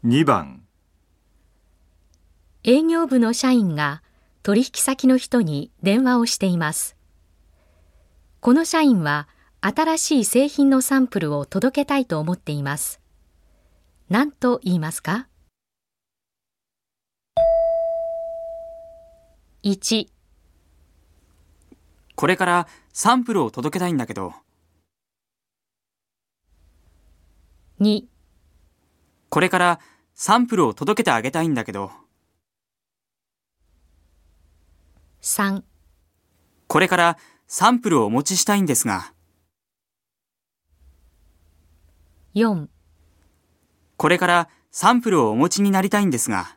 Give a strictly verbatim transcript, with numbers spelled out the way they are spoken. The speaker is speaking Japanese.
にばん、 営業部の社員が取引先の人に電話をしています。この社員は新しい製品のサンプルを届けたいと思っています。何と言いますか？ いち、 これからサンプルを届けたいんだけど。 に、 これからサンプルを届けてあげたいんだけど。 さん、 これからサンプルをお持ちしたいんですが。 よん、 これからサンプルをお持ちになりたいんですが。